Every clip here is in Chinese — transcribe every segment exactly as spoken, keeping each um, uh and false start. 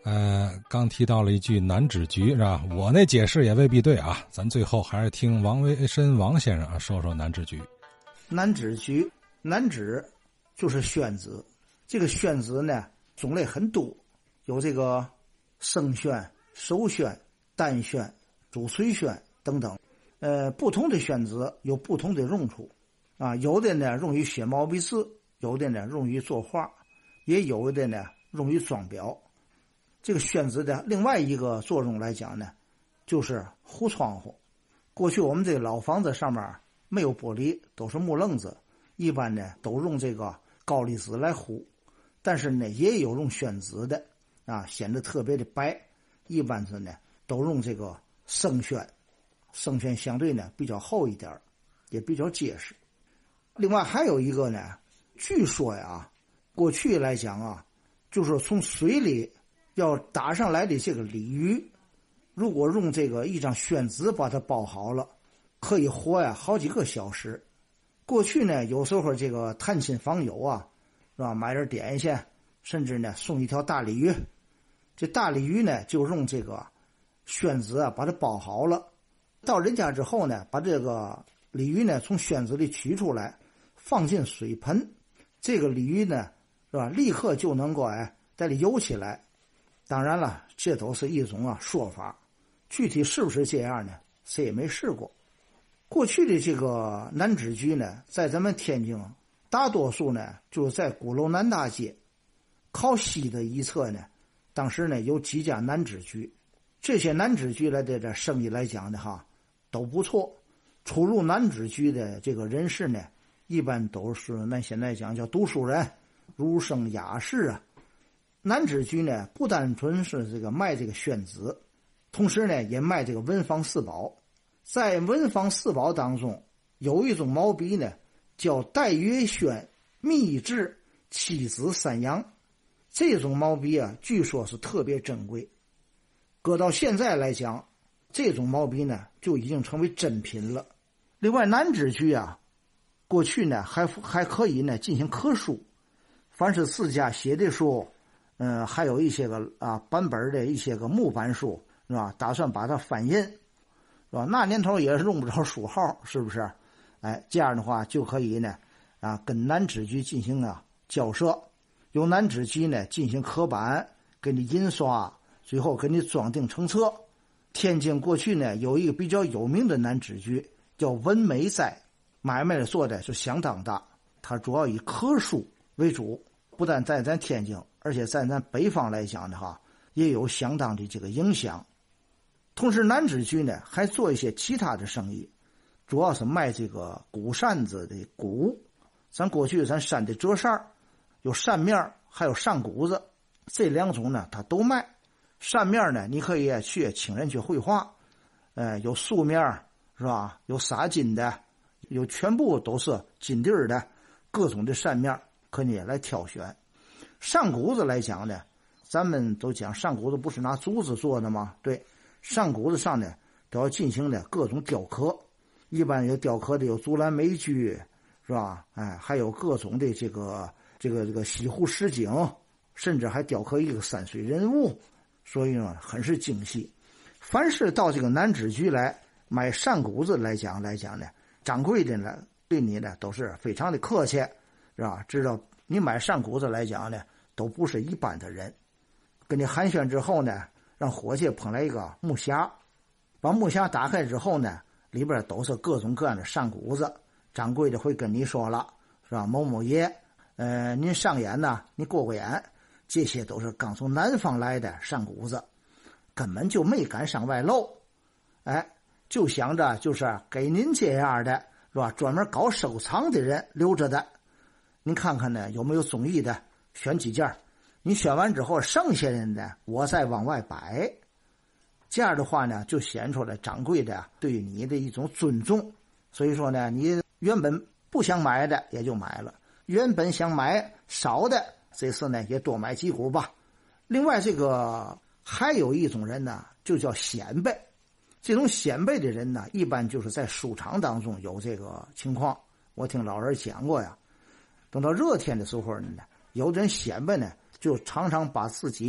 呃，刚提到了一句南指局是吧？我那解释也未必对啊，咱最后还是听王维申王先生啊说说南指局。 南指局，南指就是宣子，这个宣子呢种类很多，有这个生宣、熟宣、淡宣、主垂宣等等。呃，不同的宣子有不同的用处啊，有的呢用于写毛笔字，有的呢用于作画，也有的呢用于装裱。这个宣子的另外一个作用来讲呢，就是糊窗户。过去我们这个老房子上面没有玻璃，都是木楞子，一般呢都用这个高丽纸来糊，但是呢也有用宣纸的啊，显得特别的白。一般是呢都用这个生宣，生宣相对呢比较厚一点，也比较结实。另外还有一个呢，据说呀，过去来讲啊，就是从水里要打上来的这个鲤鱼，如果用这个一张宣纸把它包好了，可以活呀好几个小时。过去呢有时候这个探亲访友啊，是吧，买点点心，甚至呢送一条大鲤鱼，这大鲤鱼呢就用这个宣纸啊把它包好了，到人家之后呢，把这个鲤鱼呢从宣纸里取出来，放进水盆，这个鲤鱼呢是吧，立刻就能够哎在里游起来。当然了，这都是一种啊说法，具体是不是这样呢，谁也没试过。过去的这个南指局呢，在咱们天津大多数呢就是在鼓楼南大街靠西的一侧呢，当时呢有几家南指局，这些南指局来的这生意来讲的哈都不错。出入南指局的这个人士呢，一般都是那现在讲叫读书人，儒生雅士啊。南指局呢不单纯是这个卖这个宣纸，同时呢也卖这个文房四宝。在文房四宝当中有一种毛笔呢叫戴月宣秘制七子三阳，这种毛笔啊据说是特别珍贵，搁到现在来讲，这种毛笔呢就已经成为珍品了。另外南指局啊，过去呢还还可以呢进行刻书，凡是自家写的书，嗯、呃，还有一些个啊版本的一些个木版书，是吧？打算把它翻印，是吧？那年头也是用不着书号，是不是？哎，这样的话就可以呢啊跟南指局进行啊交涉，由南指局呢进行刻版，给你印刷，最后给你装订成册。天津过去呢有一个比较有名的南指局叫文美斋，买卖的做的是相当大，它主要以刻书为主，不但在咱天津，而且在咱北方来讲的话也有相当的这个影响。同时南指局呢还做一些其他的生意，主要是卖这个鼓扇子的鼓，咱过去咱扇的折扇有扇面还有扇鼓子，这两种呢它都卖。扇面呢你可以去请人去绘画，呃，有素面是吧，有撒金的，有全部都是金地儿的，各种的扇面可以来挑选。扇鼓子来讲呢，咱们都讲扇鼓子不是拿竹子做的吗？对，扇鼓子上呢都要进行的各种雕刻，一般有雕刻的有竹篮美具，是吧？哎，还有各种的这个这个这个西湖十景，甚至还雕刻一个山水人物，所以呢很是精细。凡是到这个南指局来买扇鼓子来讲来讲呢，掌柜的呢对你呢都是非常的客气，是吧？知道你买扇鼓子来讲呢都不是一般的人。跟你寒暄之后呢，让伙计捧来一个木匣，把木匣打开之后呢，里边都是各种各样的扇鼓子。掌柜的会跟你说了，是吧？某某爷，呃，您上眼呢，你过过眼，这些都是刚从南方来的扇鼓子，根本就没敢上外露，哎，就想着就是给您这样的，是吧？专门搞收藏的人留着的。您看看呢，有没有中意的，选几件。你选完之后，剩下的呢，我再往外摆。这样的话呢，就显出来掌柜的对你的一种尊重。所以说呢，你原本不想买的也就买了，原本想买少的，这次呢也多买几股吧。另外，这个还有一种人呢，就叫显摆。这种显摆的人呢，一般就是在书场当中有这个情况。我听老人讲过呀，等到热天的时候呢，有的人显摆呢，就常常把自己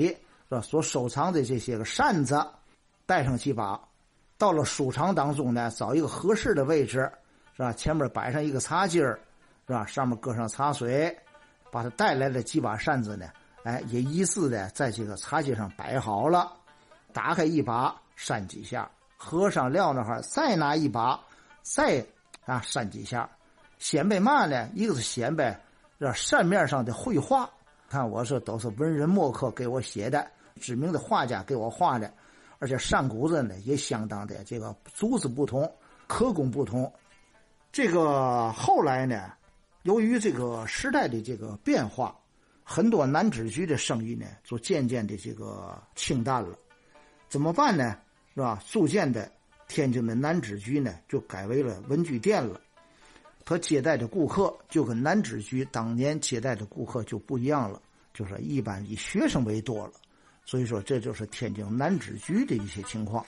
是吧？所收藏的这些个扇子带上几把，到了书场当中呢，找一个合适的位置，是吧？前面摆上一个茶几儿，是吧？上面搁上茶水，把他带来的几把扇子呢，哎，也依次的在这个茶几上摆好了。打开一把，扇几下，合上撂那儿，再拿一把，再啊扇几下。显摆嘛呢？一个是显摆这扇面上的绘画，看我说都是文人墨客给我写的，知名的画家给我画的，而且扇骨子呢也相当的这个足子不同，刻工不同。这个后来呢，由于这个时代的这个变化，很多南纸局的生意呢就渐渐的这个清淡了。怎么办呢？是吧？逐渐的，天津的南纸局呢就改为了文具店了。他接待的顾客就跟南纸局当年接待的顾客就不一样了，就是一般以学生为多了。所以说，这就是天津南纸局的一些情况。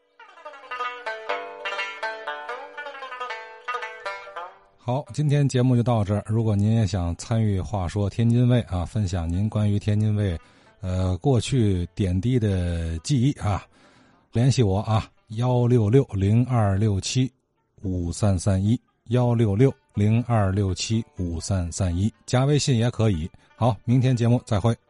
好，今天节目就到这儿。如果您也想参与话说天津卫啊，分享您关于天津卫呃过去点滴的记忆啊，联系我啊，幺六六零二六七五三三一，幺六六零二六七五三三一，加微信也可以。好，明天节目再会。